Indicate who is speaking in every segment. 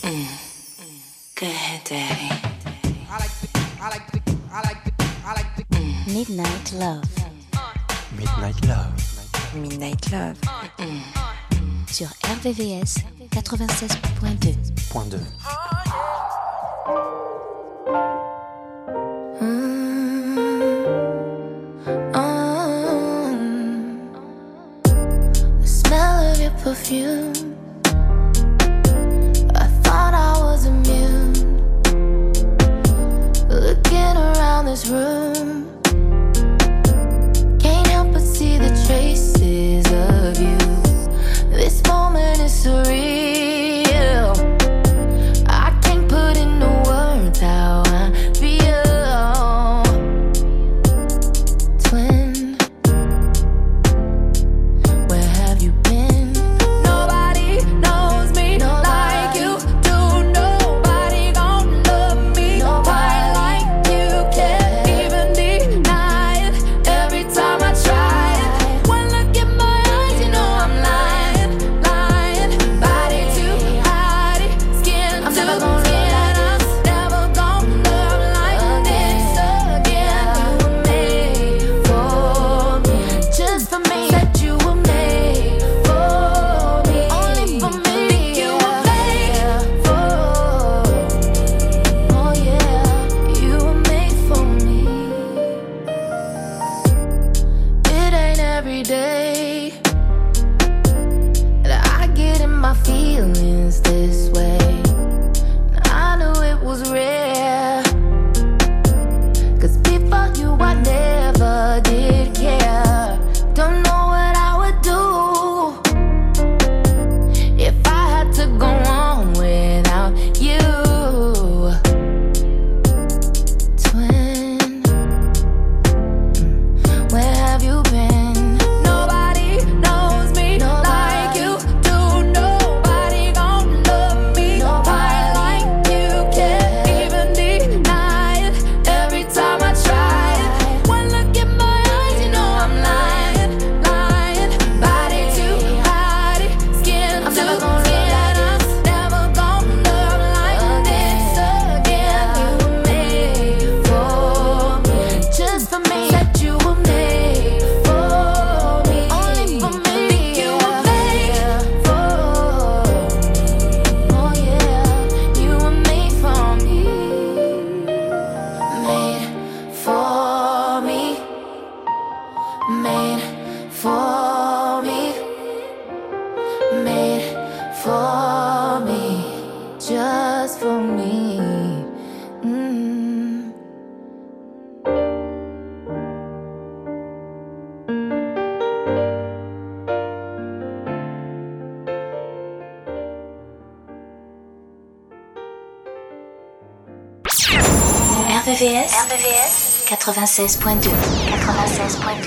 Speaker 1: Go ahead, Daddy.
Speaker 2: Midnight Love.
Speaker 3: Midnight Love.
Speaker 1: Midnight Love.
Speaker 2: Sur RVVS 96.2.
Speaker 3: Point 2.
Speaker 4: The smell of your perfume. I thought I was immune. Looking around this room, can't help but see the traces of you. This moment is surreal. I can't put into words how I feel. Twin, where have you been? Nobody knows me like you do. Nobody gon' love me quite like you. Can't even deny it every time I try it. One look in my eyes, you know I'm lying, lying. Body to body, skin to skin. I'm never gonna love like this again. You were made for me, just for me. Said you were made for me, only for me. Think you were made for. Oh yeah, you were made for me. It ain't every day that I get in my feelings this way. I knew it was rare, 'cause before you I never did care. Don't know what I would do if I had to go on without you. Twin, where have you been? Nobody knows me like you do. Nobody gon' love me quite like you. Can't even deny it every time I try it. One look in my eyes, you know I'm lying, lying. Body to body, skin to skin. I'm never gonna love like this again. You were made for me, just for me. Said you were made for me, only for me. Think you were made for. Oh yeah, you were made for me, made for me, made for me, made for me, just for me.
Speaker 2: RVVS 96.2. 96.2.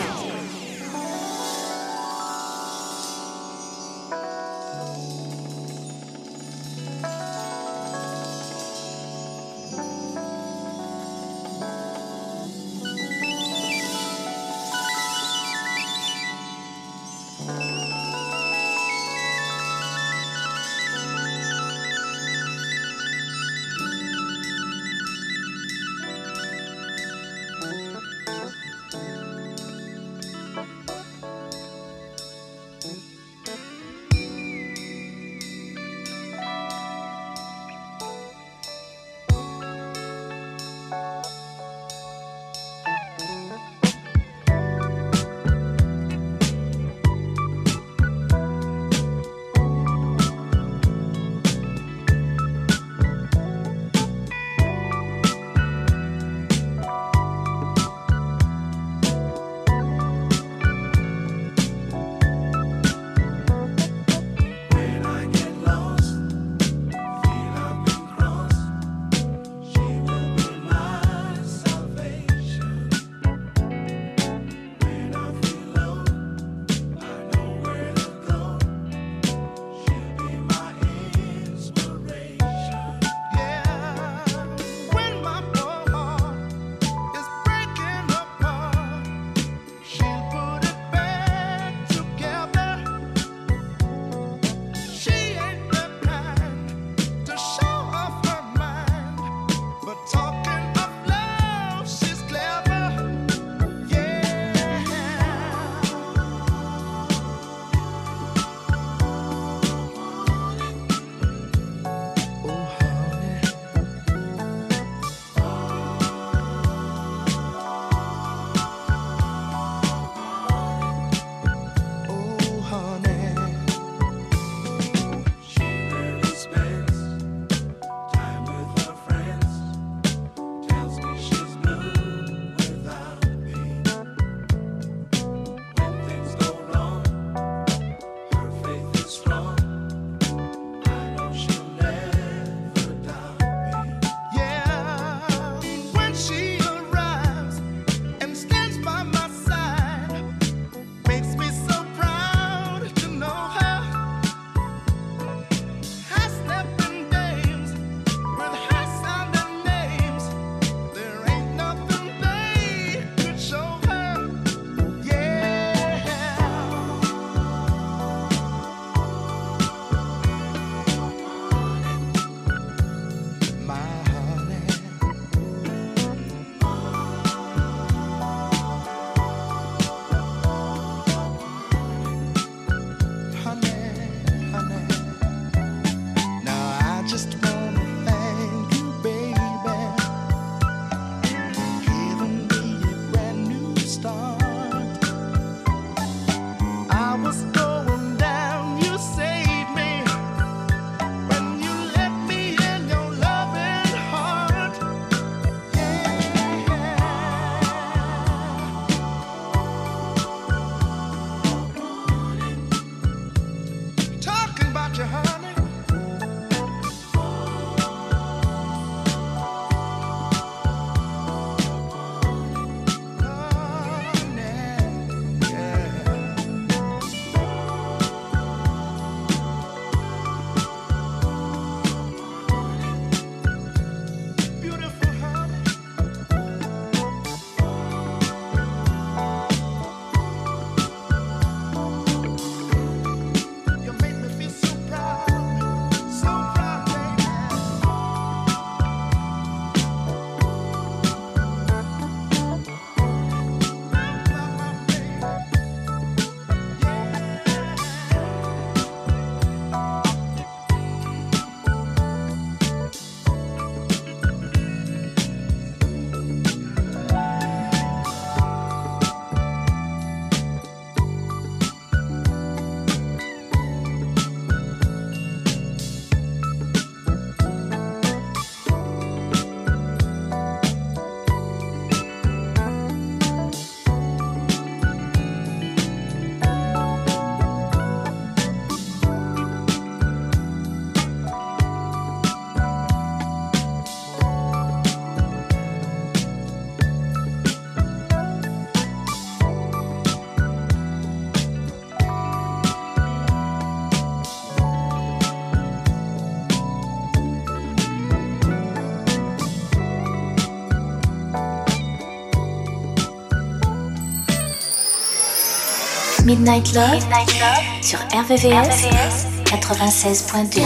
Speaker 2: Midnight Love sur RVVS 96.2.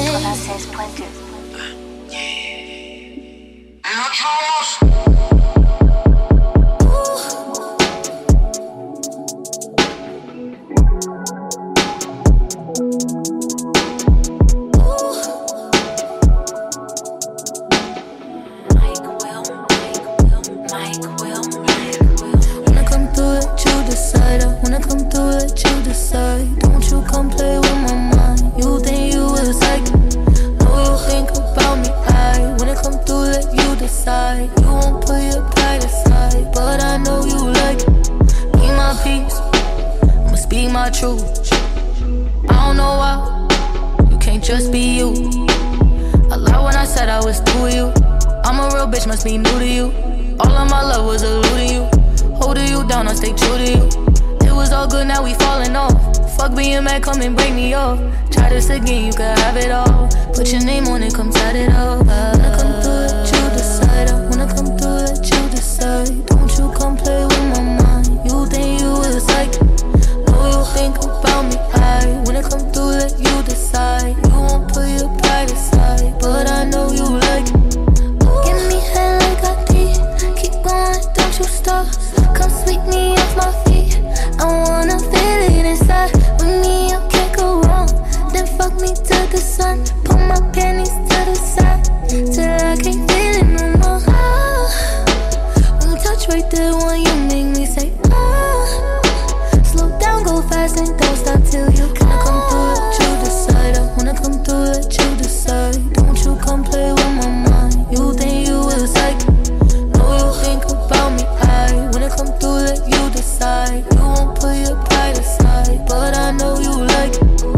Speaker 4: Come and break me off. Try this again, you can have it all. Put your name on it, come set it up. Wanna come through, let you decide. I wanna come through, let you decide. Don't you come play with my mind. You think you was like, know you think about me. I wanna come through, let you decide. You won't put your pride aside, but I know you like. Give me head like I did. Keep going, don't you stop. Come sweep me off my feet. I wanna feel it inside. With me, I can't go wrong. Then fuck me to the sun. Put my panties to the side till I can't feel it no more. When you touch right there, when you make me say slow down, go fast and don't stop till you come. Wanna come through, let you decide. I wanna come through, let you decide. Don't you come play with my mind. You think you was like, know you think about me. I wanna come through, let you decide. You won't put your pride aside, but I know you like.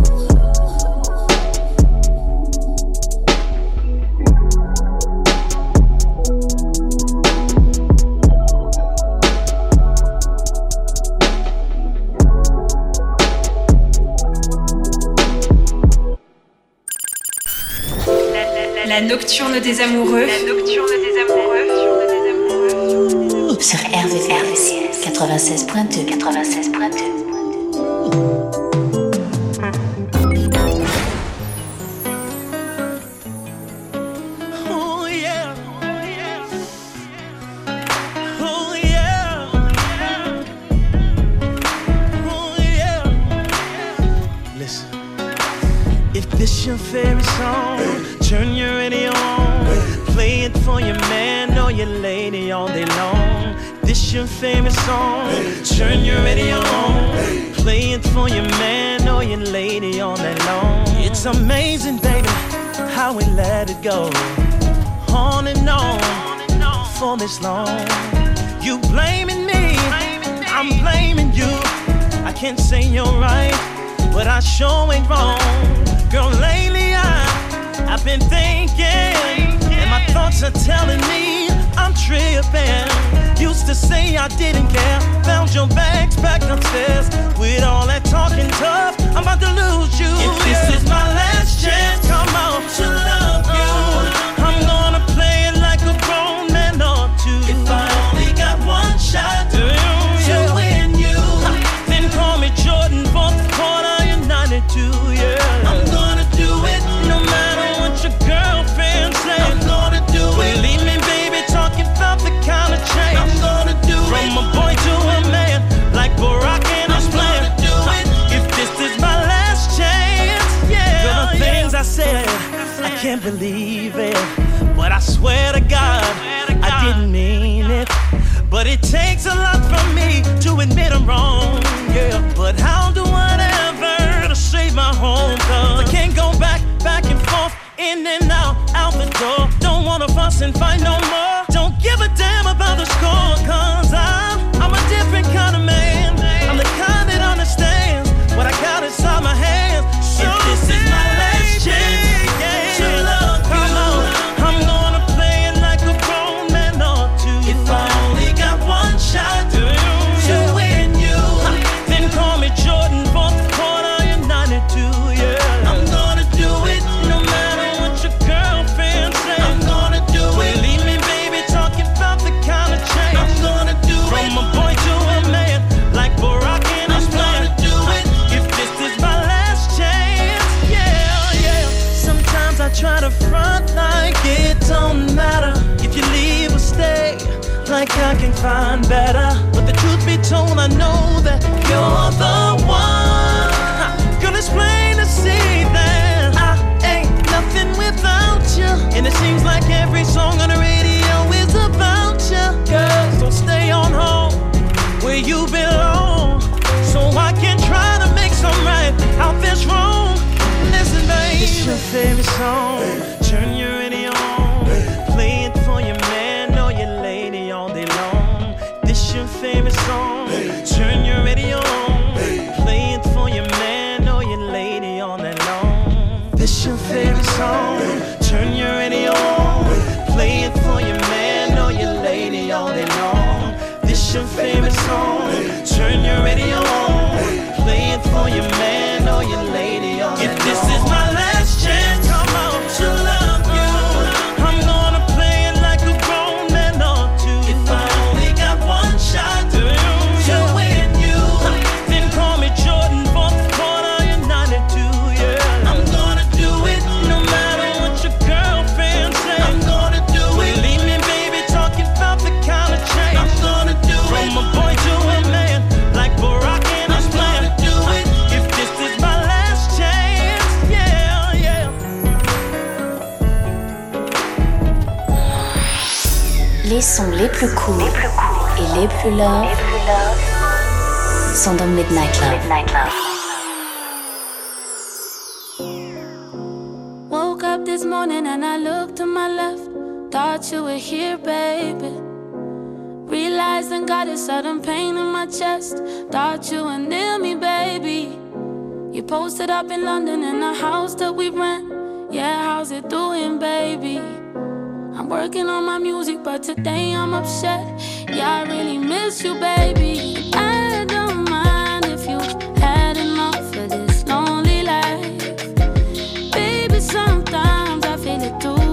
Speaker 5: La nocturne des amoureux. La nocturne des amoureux.
Speaker 2: Sur RVVS 96.2. 96.2.
Speaker 6: This your favorite song, turn your radio on, play it for your man or your lady all day long. This your favorite song, turn your radio on, play it for your man or your lady all day long. It's amazing, baby, how we let it go, on and on, for this long. You blaming me, I'm blaming you. I can't say you're right, but I sure ain't wrong. Girl, lately I've been thinking, and my thoughts are telling me I'm tripping. Used to say I didn't care, found your bags back upstairs. With all that talking tough, I'm about to lose you. If this is my last chance, come on, to love you, I'm gonna play it like a grown man ought to. If I only got one shot to win you, then call me Jordan, fourth quarter, you're 92, yeah. I'm gonna do it, no matter what your girlfriend says. I'm gonna do it. Believe me, baby, talking about the kind of change. I'm gonna do it. From a boy to a man, like Barack and his plan. I'm gonna do it. If this is my last chance, yeah. For the things I said, I can't believe it, but I swear to God, I didn't mean it. But it takes a lot from me to admit I'm wrong, yeah. But I'll do whatever to save my home, cause I can't go back and forth, in and out the door. Don't wanna fuss and fight no more. Don't give a damn about the score, cause I'm a different kind of man. I'm the kind that understands what I got inside my hands. So if this is my last chance to love you, I'm gonna play it like a grown man ought to. If I only got one shot to win you, then call me Jordan, fourth quarter, you're 92, yeah. I'm gonna do it, no matter what your girlfriend says. I'm gonna do it. Believe me, baby, talking about the kind of change. I'm gonna front like it don't matter if you leave or stay. Like I can find better, but the truth be told, I know that you're the one. Girl, it's plain to see that I ain't nothing without you. And it seems like every song on the radio is about you. Girl, so stay on home where you belong, so I can try to make some right out this wrong. Listen, baby, it's your favorite song. Turn your radio on, play it for your man or your lady all day long. This your favorite song. Turn your radio on, play it for your man or your lady all night long. This your favorite song. Turn your radio on, play it for your man or your lady all day long. This your favorite song. Turn your radio on, play it for your man or your lady all day long. If this is my last chance, come on to love you, I'm gonna play it like a grown man ought to. If I only got one shot to win you, then call me Jordan, fourth quarter, you're 92, yeah. I'm gonna do it no matter what your girlfriend says. I'm gonna do it. Believe me, baby, talking about the kind of change. I'm gonna do it. From a boy to a man, like Barack and his plan. Do it. If this is my last chance, yeah, yeah.
Speaker 2: Les sons les plus courts et les plus love sont dans Midnight Love.
Speaker 4: Woke up this morning and I looked to my left. Thought you were here, baby. Realized and got a sudden pain in my chest. Thought you were near me, baby. You posted up in London in a house that we rent. Yeah, how's it doing, baby? I'm working on my music, but today I'm upset. Yeah, I really miss you, baby. I don't mind if you had enough of this lonely life. Baby, sometimes I feel it too.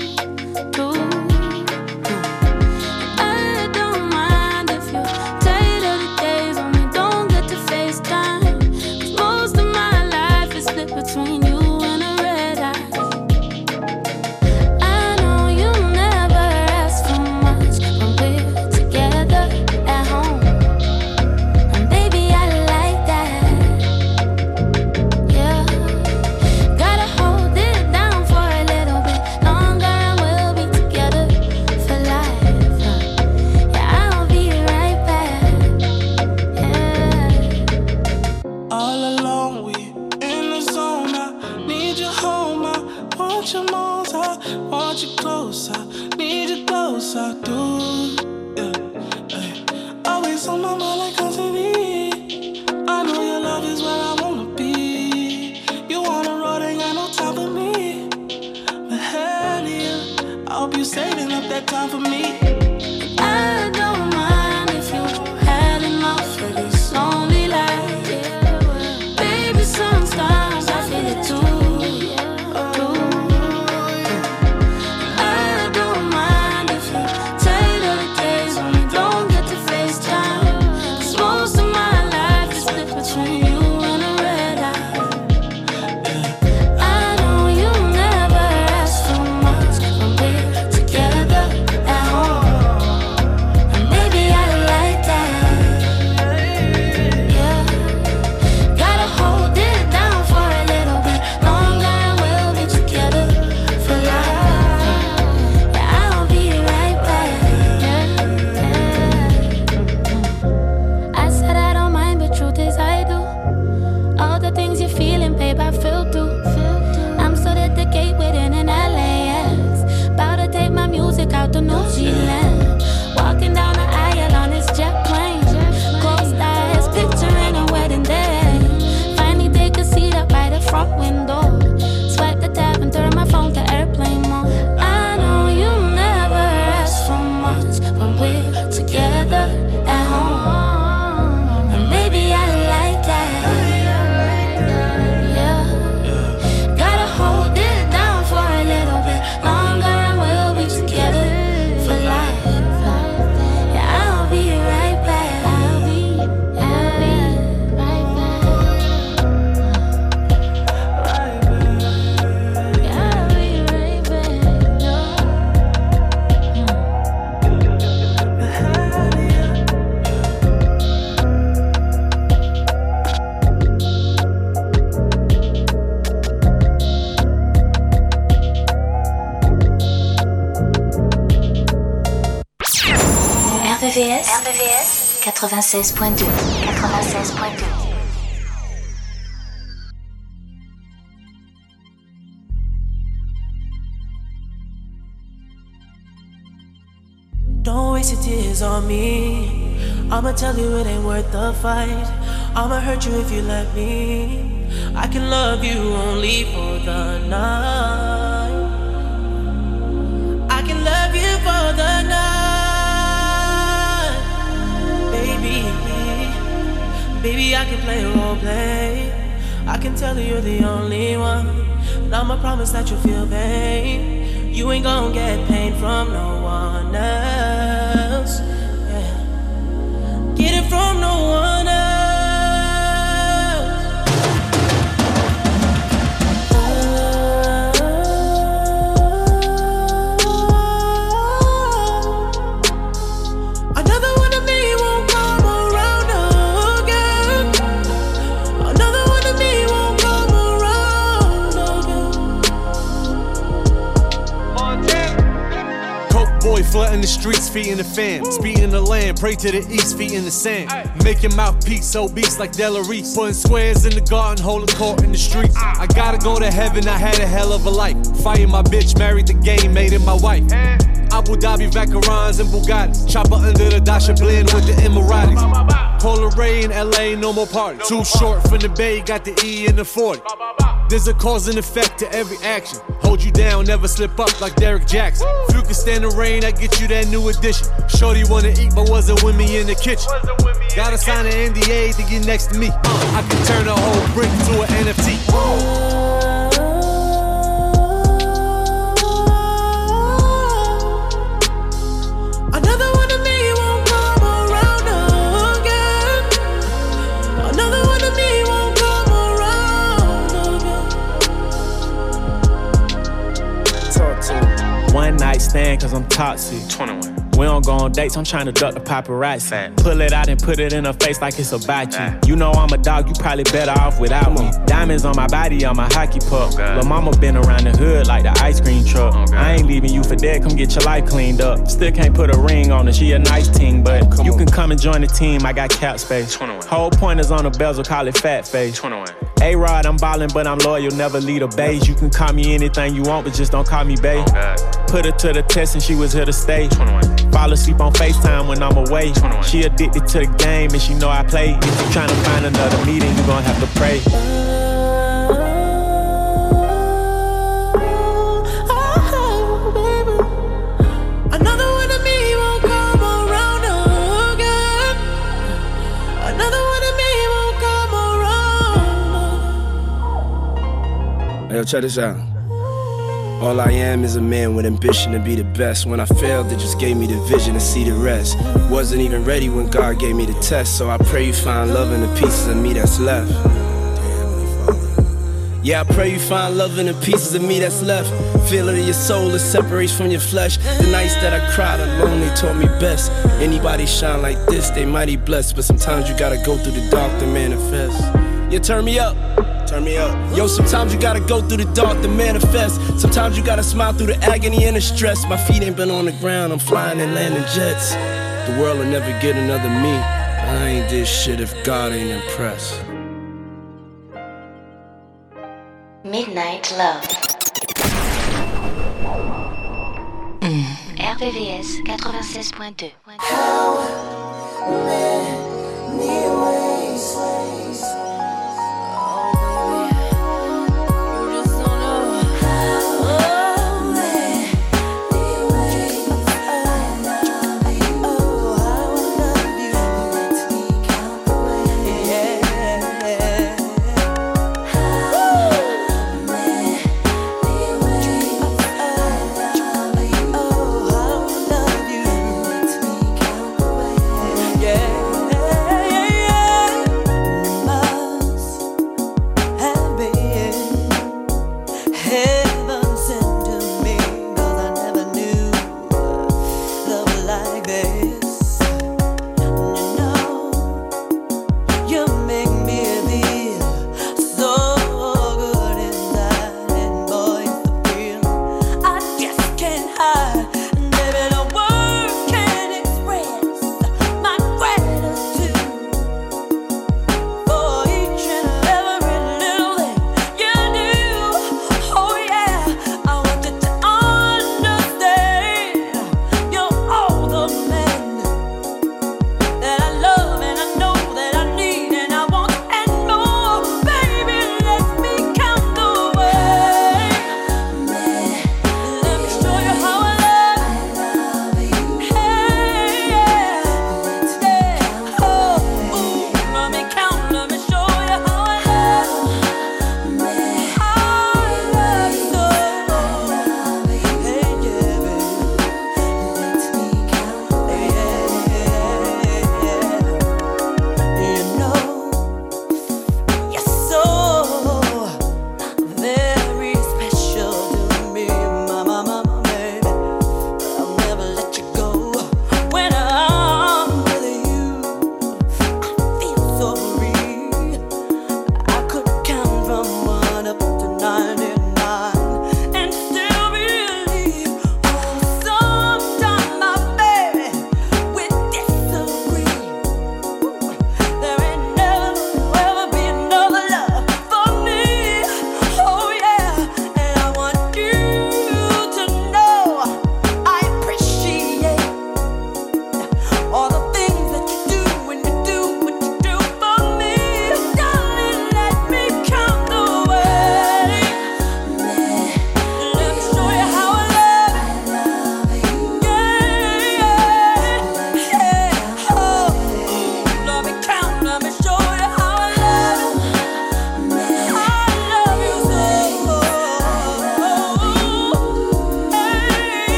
Speaker 4: I don't mind if you're tired of the days when we don't get to FaceTime. 'Cause most of my life is split between you and a red eye. I know you never ask for much when we're together at home. And baby, I like that. Yeah. Gotta hold it down for a little bit longer and we'll be together for life. Yeah, I'll be right back. Yeah.
Speaker 7: All alone, we in the zone. I need you home. I want you more. I want you close. I need you close. I do. Yeah. Hey. Always on my mind like constantly. I know your love is where I wanna be. You on the road, ain't got no time for me. But hell yeah, I hope you saving up that time for me.
Speaker 4: I don't mind if you had enough of this lonely life. Baby, sometimes I feel it too. I don't mind if you're tired of the days when we don't get to FaceTime. 'Cause most of my life is split between you and a red eye. I know you never ask for much when we're together at home.
Speaker 2: RVVS 96.2. 96.2.
Speaker 6: Don't waste your tears on me. I'ma tell you it ain't worth the fight. I'ma hurt you if you let me. I can love you only for the night. I can love you for the night. Baby, baby, I can play role play. I can tell you you're the only one. And I'ma promise that you'll feel pain. You ain't gon' get pain from no one else. Yeah. Get it from no one else. Another one of me won't come around again. Another one of me won't come around again.
Speaker 8: Coke boy flooding the streets, feet in the fan. Speed in the land, pray to the east, feet in the sand. Make your mouthpiece obese like Delarice. Putting squares in the garden, holding court in the streets. I gotta go to heaven, I had a hell of a life. Fighting my bitch, married the game, made it my wife. Abu Dhabi, Vacarons and Bugattis. Chopper under the Dasha blend with the Emiratis. Polar Ray in LA, no more party. Too short from the Bay, got the E in the 40. There's a cause and effect to every action. Hold you down, never slip up like Derek Jackson. If you can stand the rain, I get you that new addition. Shorty wanna eat, but wasn't with me in the kitchen. Gotta sign an NDA to get next to me. I can turn a whole brick to an NFT.
Speaker 6: Another one of me won't come around again. Another one of me won't come around again.
Speaker 9: Talk to me. One night stand cause I'm toxic. 21. We don't go on dates, I'm trying to duck the paparazzi. Pull it out and put it in her face like it's about you. You know I'm a dog, you probably better off without me. Diamonds on my body, on my hockey puck. Lil' mama been around the hood like the ice cream truck. I ain't leaving you for dead, come get your life cleaned up. Still can't put a ring on her, she a nice team, but you can come and join the team, I got cap space. 21. Whole pointers on the bezel, call it fat face. 21. A-Rod, I'm ballin', but I'm loyal, never lead a beige. You can call me anything you want, but just don't call me babe. Put her to the test and she was here to stay. 21. Fall asleep on FaceTime when I'm away. 21. She addicted to the game and she know I play. If you tryna find another meeting, you gon' have to pray.
Speaker 6: Another one of me won't come around again. Another one of me won't come around.
Speaker 10: Hey, yo, check this out. All I am is a man with ambition to be the best. When I failed, it just gave me the vision to see the rest. Wasn't even ready when God gave me the test. So I pray you find love in the pieces of me that's left. Yeah, I pray you find love in the pieces of me that's left. Feel it in your soul, it separates from your flesh. The nights that I cried alone, they taught me best. Anybody shine like this, they mighty blessed. But sometimes you gotta go through the dark to manifest. Yeah, turn me up. Turn me up. Yo, sometimes you gotta go through the dark to manifest. Sometimes you gotta smile through the agony and the stress. My feet ain't been on the ground, I'm flying and landing jets. The world will never get another me. I ain't this shit if God ain't impressed.
Speaker 2: Midnight Love. RVVS 96.2.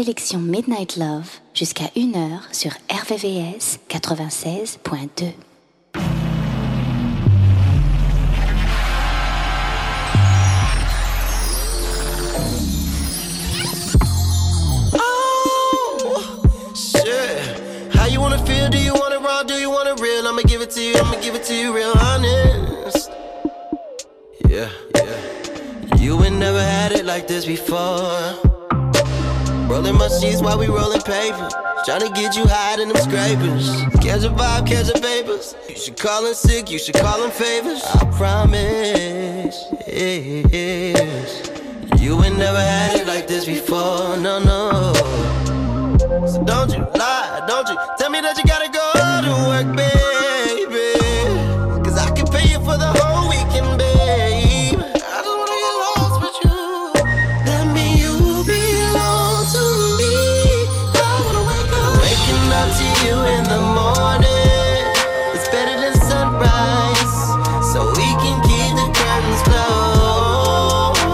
Speaker 2: sélection Midnight Love jusqu'à 1h sur RVVS 96.2.
Speaker 11: Feel, do you want it raw, do you want it real? I'ma give it to you, I'ma give it to you real honest. Yeah, yeah. You ain't never had it like this before. Rolling my sheets while we rolling paper. Tryna get you high in them scrapers. Catch a vibe, catch a papers. You should call in sick, you should call in favors. I promise, yes. You ain't never had it like this before, no, no. So don't you lie, don't you tell me that you gotta go to work, baby. Cause I can pay you for the whole weekend, babe. I just wanna get lost with you. That mean you belong to me. I wanna wake up. Waking up to you in the morning, it's better than sunrise. So we can keep the curtains closed.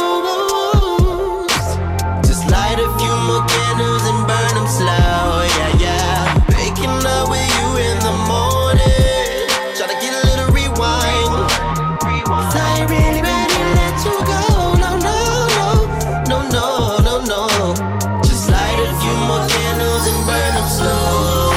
Speaker 11: Just light a few more candles and burn them slow, yeah, yeah. Waking up with you in the morning, tryna get a little rewind. So I ain't really ready to let you go, no, no, no, no, no, no, no. Just light a few more candles and burn them slow.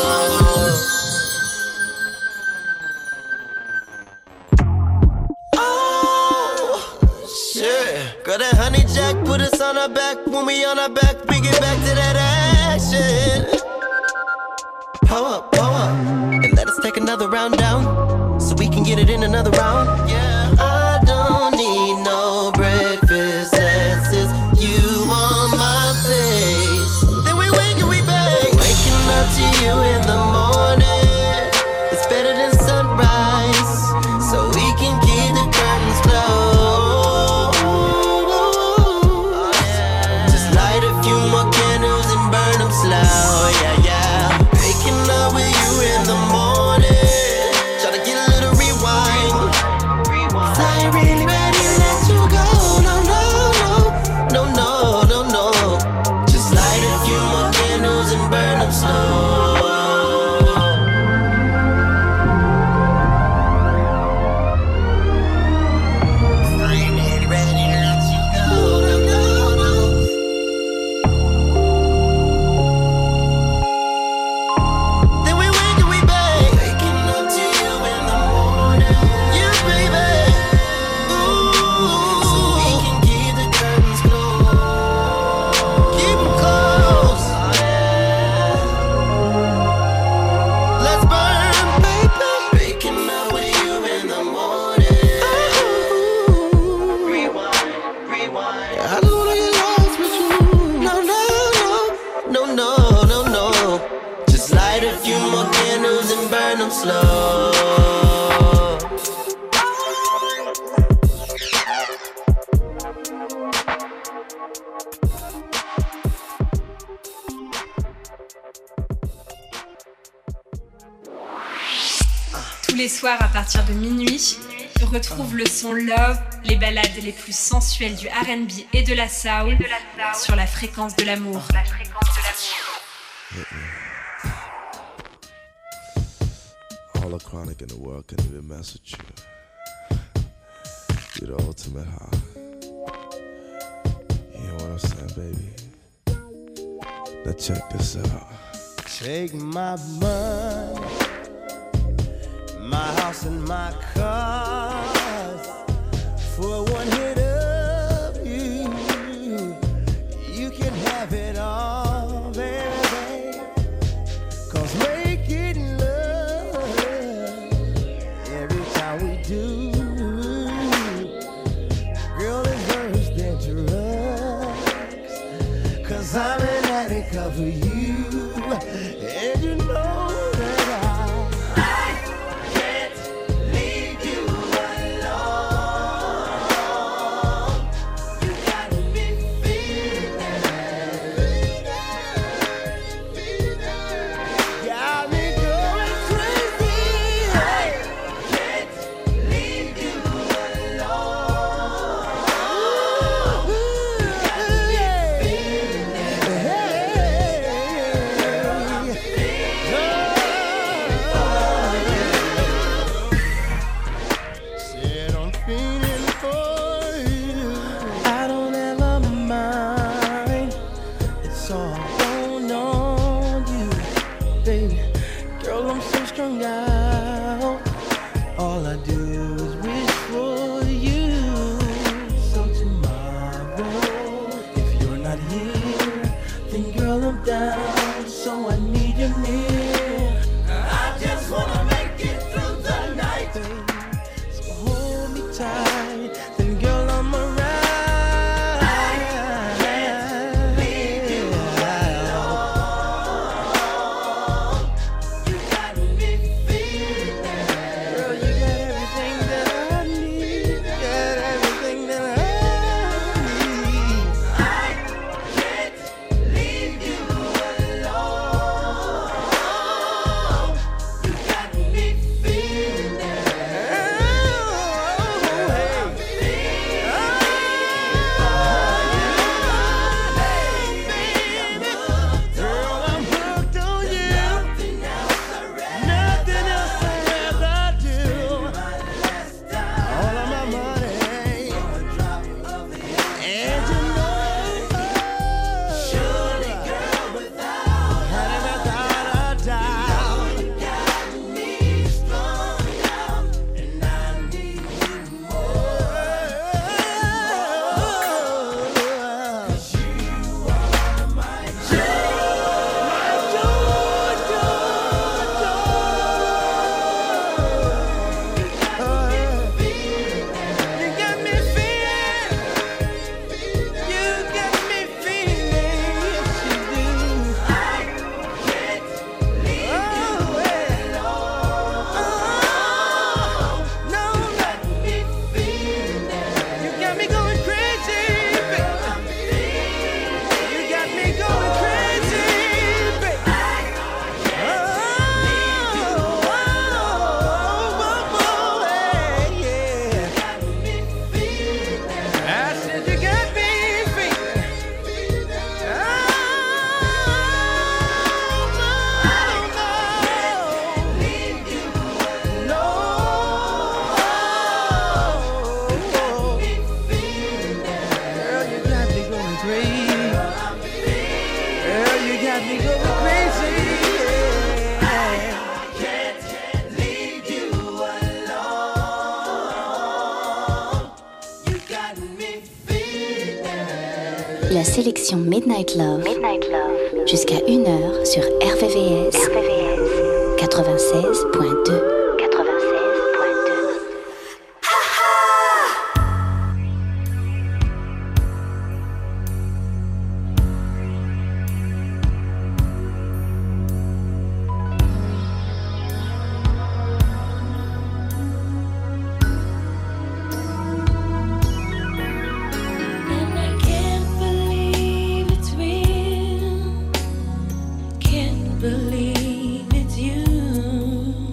Speaker 11: Oh, shit. Girl, that honey jack put us on our back. When we on our back, we get back to that action. Pull up, and let us take another round down, so we can get it in another round. Yeah, I don't need no breakfast, that's just you on my face. Then we wake and we bang. Waking up to you in the morning, it's better than sunrise, so we can keep the curtains closed. Just light a few more candles and burn them slow, yeah, yeah. Waking up with you in the morning, try to get a little rewind. So I ain't really ready to let you go, no, no, no, no, no, no, no. Just light a few more candles and burn them slow. I ain't really ready to let you go, no, no, no. Then we wake and we bang. Waking up to you in the morning, you baby. Ooh, so we can keep the curtains closed. Keep them closed. Let's burn, baby. Waking up with you in the morning. Rewind, rewind. I just wanna get lost with you. No, no, no, no, no, no, no. Just light a few more candles and burn them slow.
Speaker 5: Tous les soirs à partir de minuit, retrouve le son Love, les ballades les plus sensuelles du R&B et de la soul sur la fréquence de l'amour.
Speaker 12: All the chronic in the world can even mess with you. You're the ultimate high. You know what I'm saying, baby? Now check this out.
Speaker 13: Take my money, my house and my cars, for one hit of you, you can have it all, baby. 'Cause making love every time we do, girl, is worse than drugs. 'Cause I'm an addict of you, and you know that I can't leave
Speaker 2: la sélection Midnight Love, jusqu'à 1h sur RVVS 96.2.
Speaker 4: Believe it's you.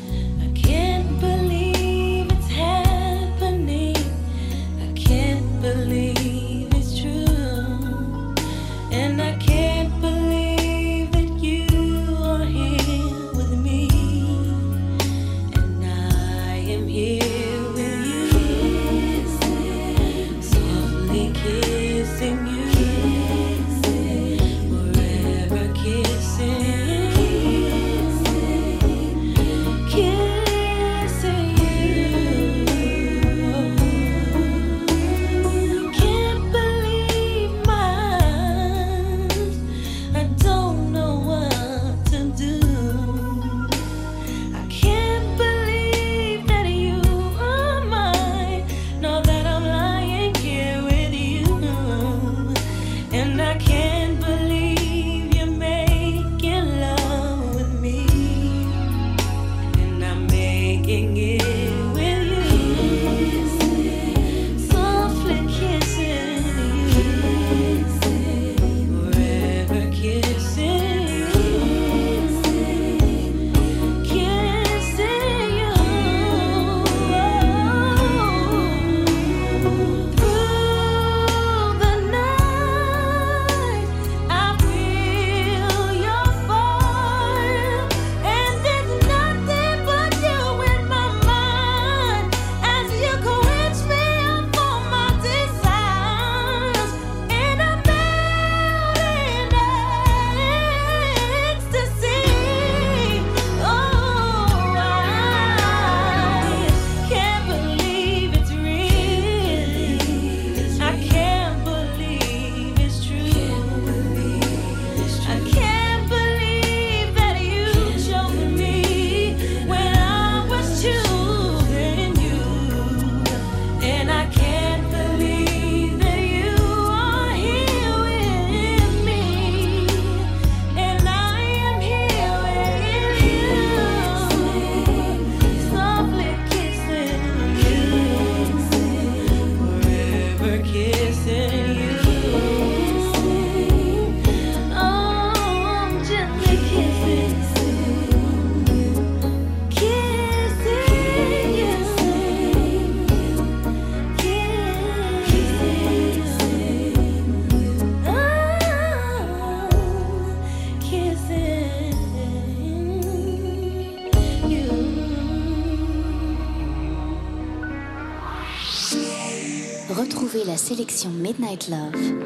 Speaker 2: Retrouvez la sélection Midnight Love,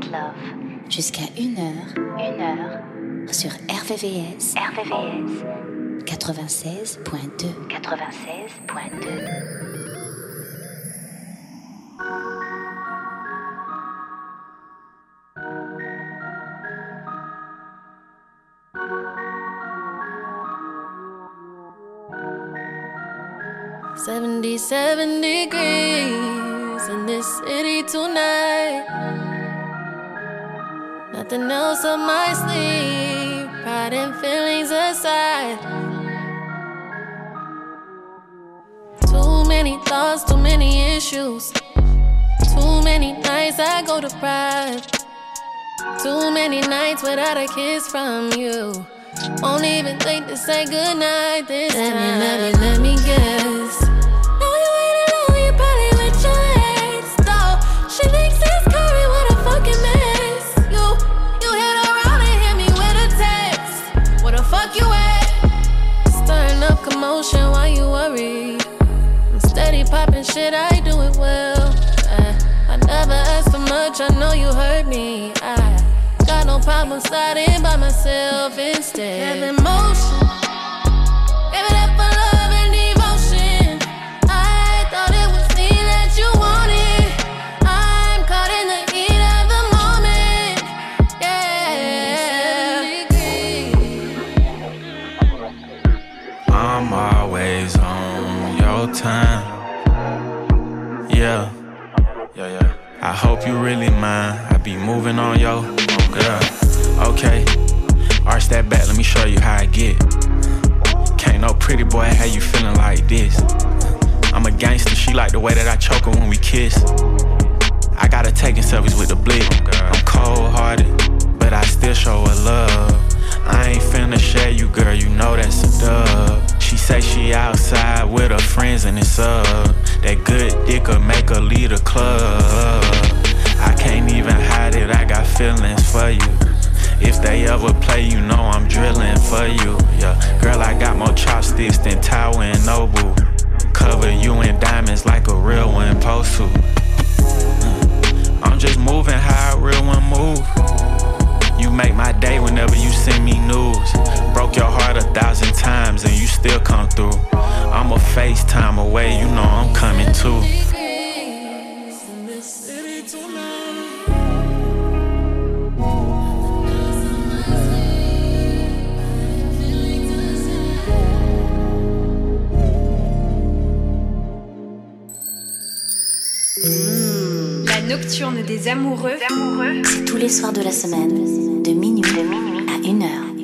Speaker 2: jusqu'à 1h sur RVVS 96.2.
Speaker 4: $77 degrees in this city tonight. Nothing else up my sleeve, pride and feelings aside. Too many thoughts, too many issues. Too many nights I go deprived. Too many nights without a kiss from you. Won't even think to say goodnight this time. Let me guess. Know you ain't alone, you probably with your ex. Though she thinks it's curry, what a fucking mess. You hit around and hit me with a text. Where the fuck you at? Stirring up commotion while you worry. I'm steady popping shit, I do it well. I never asked for much, I know you hurt me. Got no problem sliding by myself instead. Have emotion, gave it up for love and devotion. I thought it was me that you wanted. I'm caught in the heat of the moment.
Speaker 14: I'm always on your time. Yeah. I hope you really mind. I be moving on yo. Girl. Okay. Arch that back, let me show you how I get. Can't no pretty boy, how you feeling like this? I'm a gangster, she like the way that I choke her when we kiss. I gotta taking selfies with the blick. I'm cold-hearted, but I still show her love. I ain't finna share you, girl, you know that's a dub. She say she outside with her friends and it's up. That good dick'll make her lead a club. I can't even hide it, I got feelings for you. If they ever play, you know I'm drilling for you. Yeah, girl, I got more chopsticks than Tower and Noble. Cover you in diamonds like a real one supposed to. I'm just moving how a real one move. You make my day whenever you send me news. Broke your heart 1,000 times and you still come through. I'm a FaceTime away, you know I'm coming too.
Speaker 5: La nocturne des amoureux,
Speaker 2: c'est tous les soirs de la semaine, de minuit à 1h.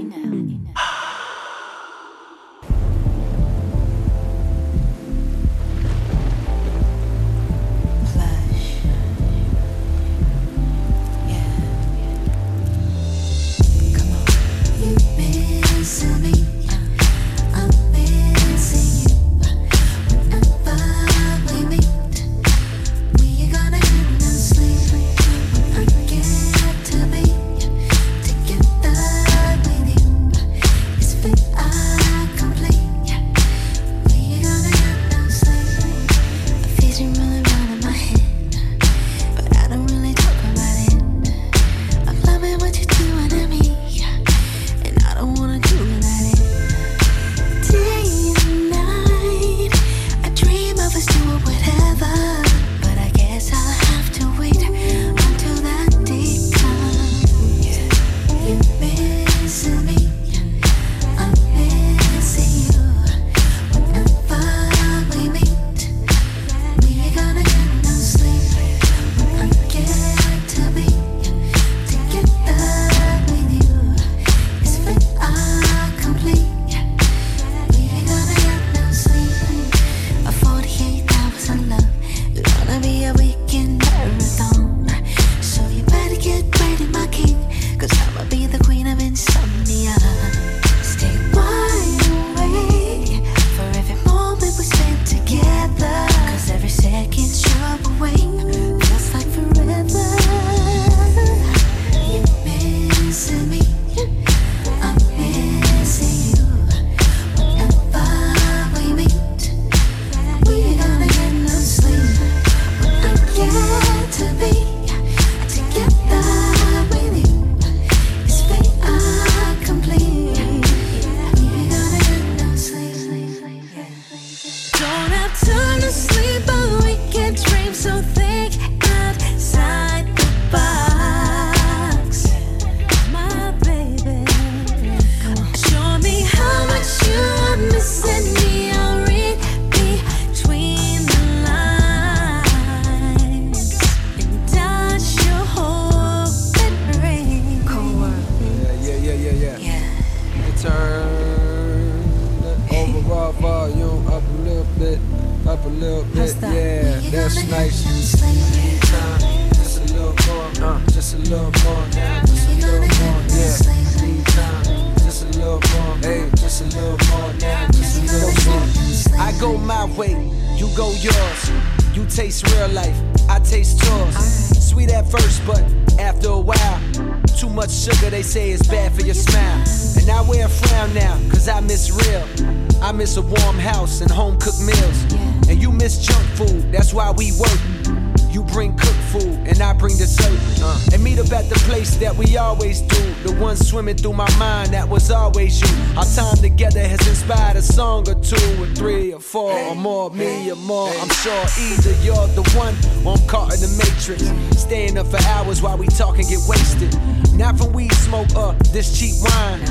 Speaker 15: A warm house and home cooked meals. And you miss junk food, that's why we work. You bring cooked food and I bring dessert. And meet up at the place that we always do. The one swimming through my mind, that was always you. Our time together has inspired a song or two, or three or four or more, me or more. I'm sure either you're the one or I'm caught in the matrix. Staying up for hours while we talk and get wasted. Not from weed smoke or this cheap wine.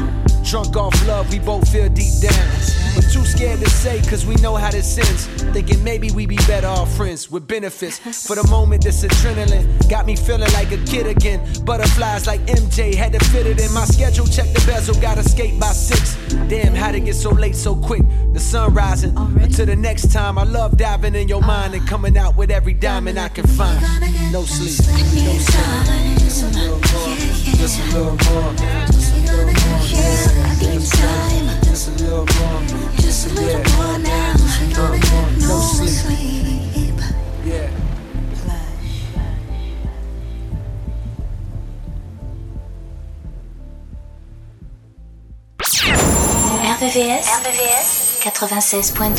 Speaker 15: Drunk off love, we both feel deep down. But too scared to say, cause we know how this ends. Thinking maybe we be better off friends with benefits. For the moment, this adrenaline got me feeling like a kid again. Butterflies like MJ, had to fit it in my schedule. Check the bezel, gotta skate by 6. Damn, how'd it get so late so quick? The sun rising. Until the next time, I love diving in your mind and coming out with every diamond I can find. No sleep, no sleep. Just a little more, just a little more, just a little more. Just a little more, just a little more now. No sleep. Yeah.
Speaker 2: RVVS 96.2.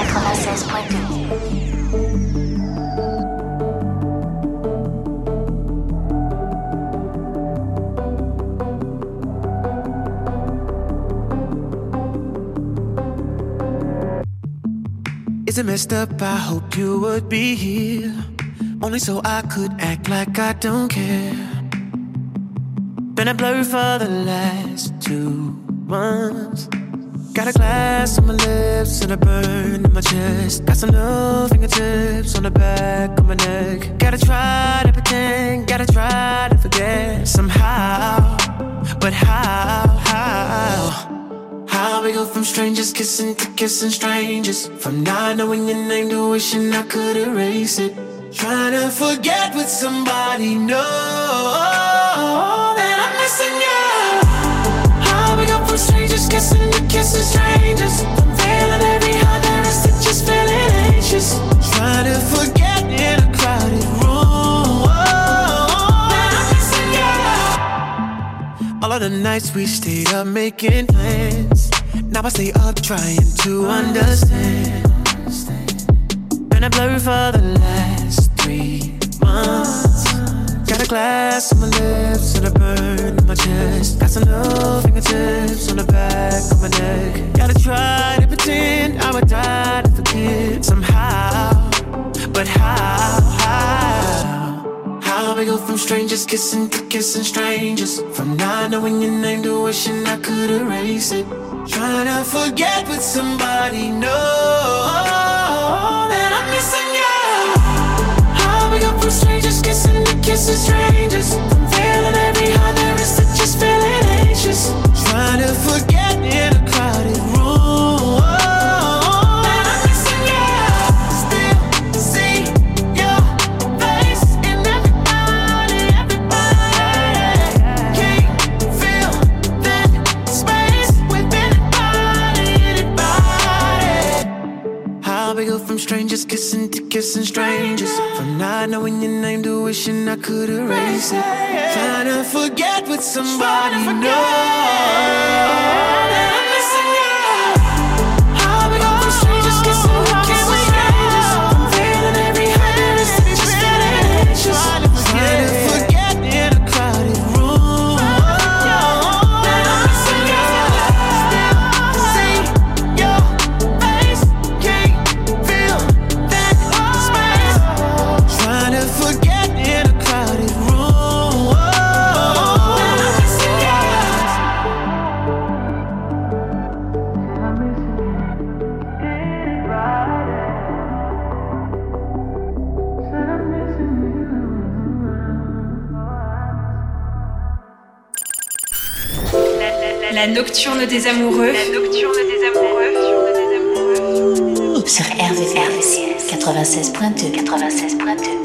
Speaker 6: Is it messed up? I hope you would be here, only so I could act like I don't care. Been a blur for the last 2 months. Got a glass on my lips and a burn in my chest. Got some little fingertips on the back of my neck. Gotta try to pretend, gotta try to forget somehow. But how? How we go from strangers kissing to kissing strangers, from not knowing your name to wishing I could erase it. Trying to forget with somebody, know that I'm missing you. How we go from strangers kissing to kissing strangers, from feeling every heart there is to just feeling anxious. Trying to forget in a crowded room that I'm missing you. All of the nights we stayed up making plans, now I stay up trying to understand. Been a blur for the last 3 months. Got a glass on my lips and a burn in my chest. Got some little fingertips on the back of my neck. Gotta try to pretend I would die to forget somehow. But how? How we go from strangers kissing to kissing strangers, from not knowing your name to wishing I could erase it. Trying to forget with somebody, know that I'm missing you. How we go from strangers kissing to kissing strangers, from feeling every heart there is to just feeling anxious. Trying to forget in a crowded room that I'm missing you. Still see your face in everybody. Can't feel that space with anybody. How we go from strangers kissing to kissing strangers, from not knowing your name to wishing I could erase it. Trying to forget with somebody, know that I'm missing you. How we go from strangers kissing to kissing strangers, from feeling every heart there is to just feeling anxious. Trying to forget in a crowded room that I'm missing you. Still see your face, can't feel that space. Trying to forget in a crowded room that I'm missing you.
Speaker 5: La nocturne des amoureux.
Speaker 2: Sur RVVS 96.2.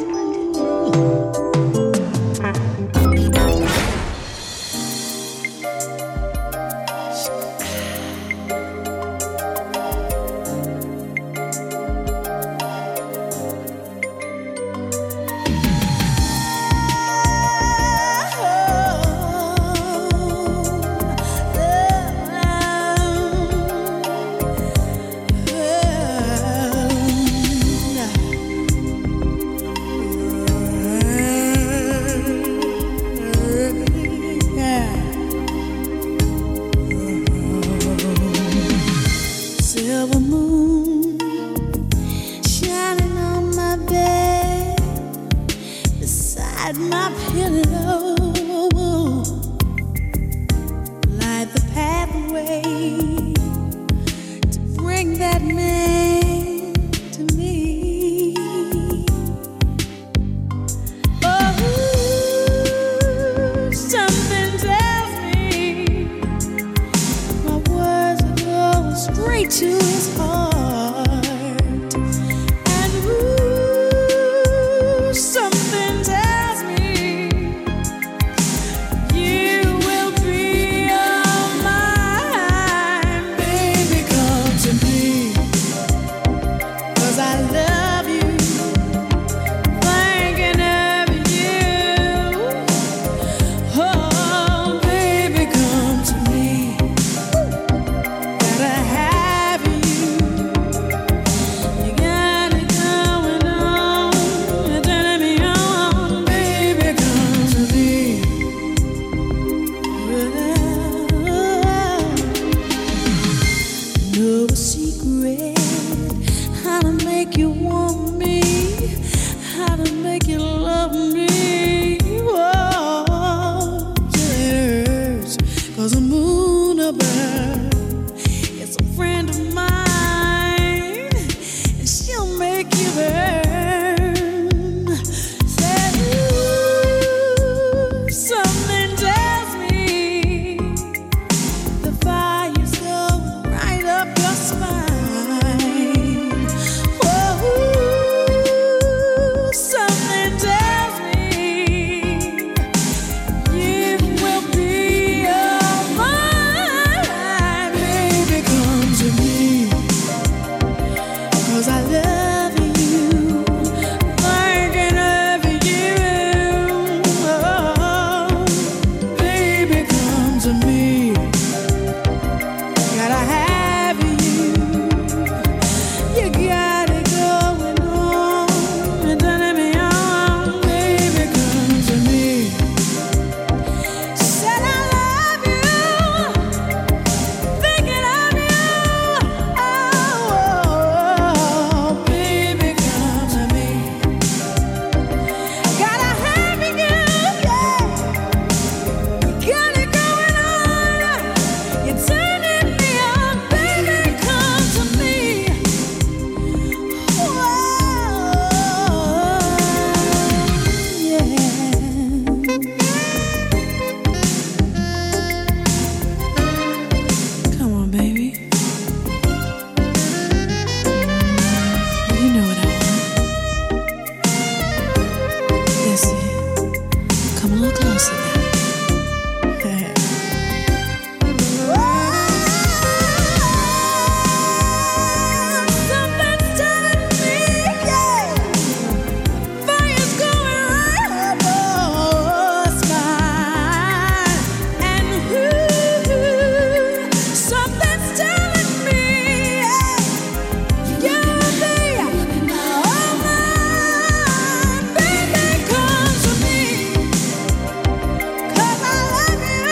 Speaker 4: Silver moon shining on my bed, beside my pillow, light the path
Speaker 16: way to bring that man to me. Oh, something tells me my words are going straight to his heart, and something tells me you will be all mine. Baby, come to me, 'cause I love you, thinking of you. Oh, baby, come to me, gotta have you. You got it going on, you're turning me on. Baby, come to me. No secret how to make you want me, how to make you love me. Oh, it hurts 'cause the moon above is a friend of mine, and she'll make you burn. Said, ooh, something tells me the fire's going right up your spine. Oh, something tells me you will be all mine. Baby, come to me, 'cause I love you, thinking of you. Oh, baby, come to me, gotta have you. You got it going on, you're turning me on. Baby, come to me. Said I love you, thinking of you. Oh, baby, come to me, gotta have you. Yeah, you got it going on, you're turning me on. Baby, come to me. Whoa, yeah. Come on, baby. You know what I want. That's it. Come a little closer now. Something's telling me, yeah, fire's going right up your spine, and something's telling me, yeah, you'll be all mine. Baby, come to me, 'cause I love you,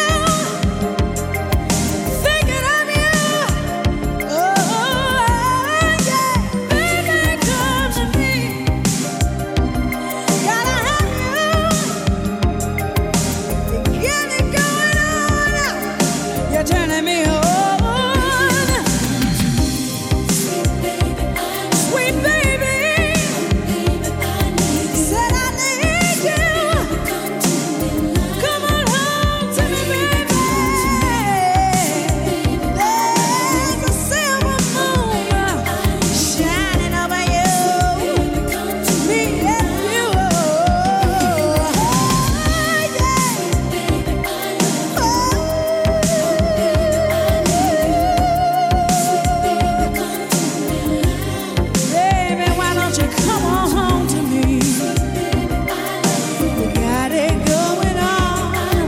Speaker 16: thinking of you. Oh, yeah, baby, come to me, gotta have you. You got it going on, you're turning me on. Sweet baby, said I need you. Come on home to me, baby. There's a silver moon shining over you, me and you. Baby, why don't you come on home to me? You got it going on.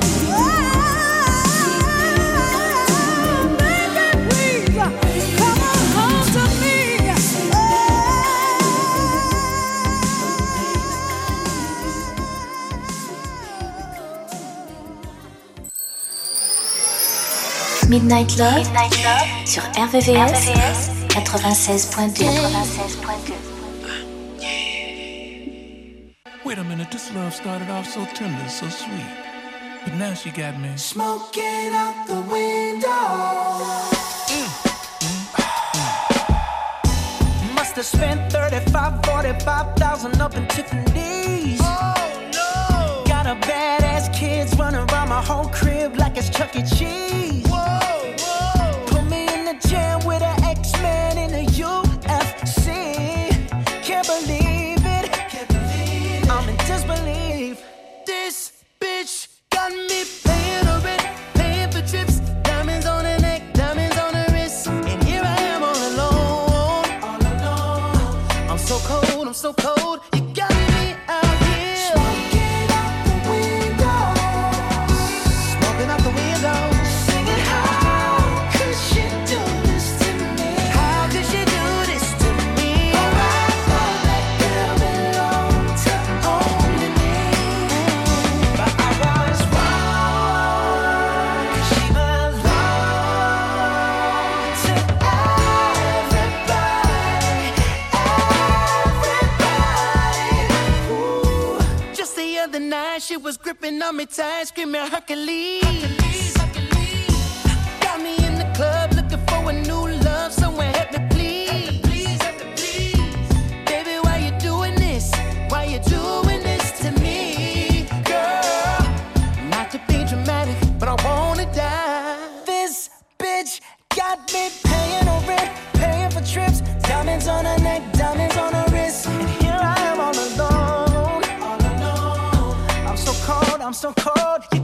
Speaker 16: Baby, please, come on home to me.
Speaker 2: Midnight Love sur RVVS 96.2.
Speaker 17: Wait a minute, this love started off so tender, so sweet.
Speaker 7: but now she got me
Speaker 13: smoking out the window.
Speaker 17: Must have spent 35, 45,000 up in Tiffany's.
Speaker 13: Oh no!
Speaker 17: Got a badass kids running around my whole crib like it's Chuck E. Cheese.
Speaker 13: Whoa, whoa!
Speaker 17: Put me in the gym with an X-Men in the UFC. Can't believe it.
Speaker 13: Can't believe it.
Speaker 17: I'm in disbelief.
Speaker 13: This bitch got me paying her rent, paying for trips, diamonds on her neck, diamonds on her wrist, and here I am all alone. All alone.
Speaker 17: I'm so cold, I'm so cold. You got me out here.
Speaker 13: Smoking out the window.
Speaker 17: Smoking out the window.
Speaker 13: Singing, how could she do this to me?
Speaker 17: How could she do this to me?
Speaker 13: Oh, I thought that girl belonged to only me.
Speaker 17: But I was wrong. She was wrong
Speaker 13: To everybody. Ooh.
Speaker 17: Just the other night, she was gripping on me tight, screaming Hercules. Got me in the club looking for a new love, someone help me please. Baby, why you doing this? Why you doing this to me, girl? Not to be dramatic, but I wanna die. This bitch got me paying her rent, paying for trips, diamonds on her neck, diamonds on her wrist, and here I am all alone. I'm so cold, I'm so cold. You